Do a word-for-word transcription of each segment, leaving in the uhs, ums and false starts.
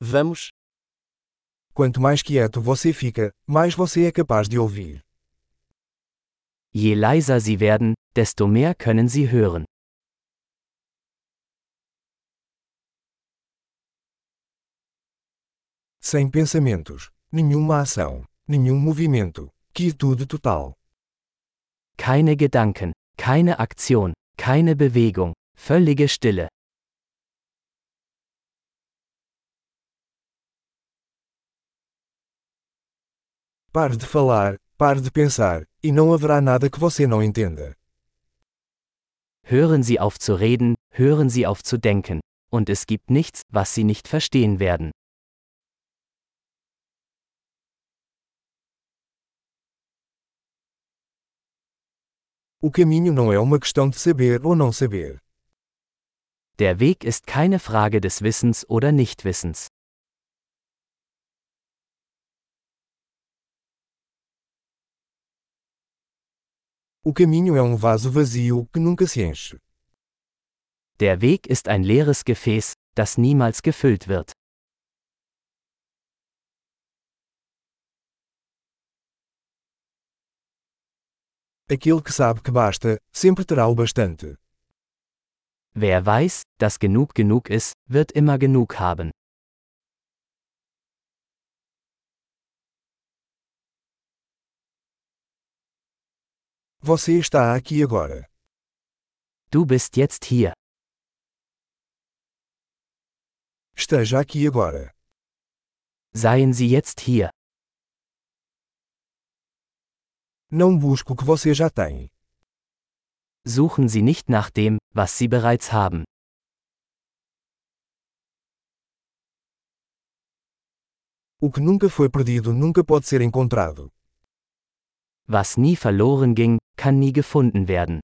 Vamos. Quanto mais quieto você fica, mais você é capaz de ouvir. Je leiser Sie werden, desto mehr können Sie hören. Sem pensamentos, nenhuma ação, nenhum movimento, quietude total. Keine Gedanken, keine Aktion, keine Bewegung, völlige Stille. Pare de falar, pare de pensar, e não haverá nada que você não entenda. Hören Sie auf zu reden, hören Sie auf zu denken. Und es gibt nichts, was Sie nicht verstehen werden. O caminho não é uma questão de saber ou não saber. Der Weg ist keine Frage des Wissens oder Nichtwissens. O caminho é um vaso vazio que nunca se enche. Der Weg ist ein leeres Gefäß, das niemals gefüllt wird. Aquele que sabe que basta, sempre terá o bastante. Wer weiß, dass genug genug ist, wird immer genug haben. Você está aqui agora. Du bist jetzt hier. Esteja aqui agora. Seien Sie jetzt hier. Não busque o que você já tem. Suchen Sie nicht nach dem, was Sie bereits haben. O que nunca foi perdido nunca pode ser encontrado. Was nie verloren ging, kann nie gefunden werden.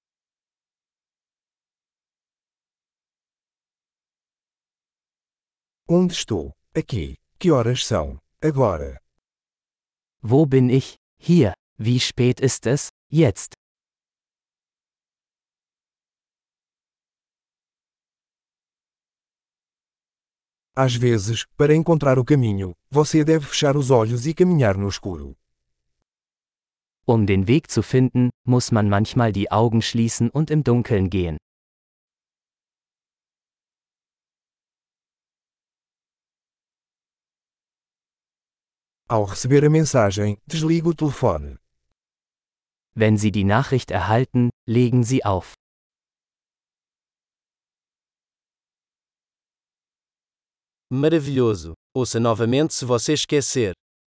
Onde estou? Aqui. Que horas são? Agora. Wo bin ich? Hier. Wie spät ist es? Jetzt. Às vezes, para encontrar o caminho, você deve fechar os olhos e caminhar no escuro. Um den Weg zu finden, muss man manchmal die Augen schließen und im Dunkeln gehen. Ao receber a mensagem, desligue o telefone. Wenn Sie die Nachricht erhalten, legen Sie auf. Maravilhoso! Ouça novamente se você esquecer.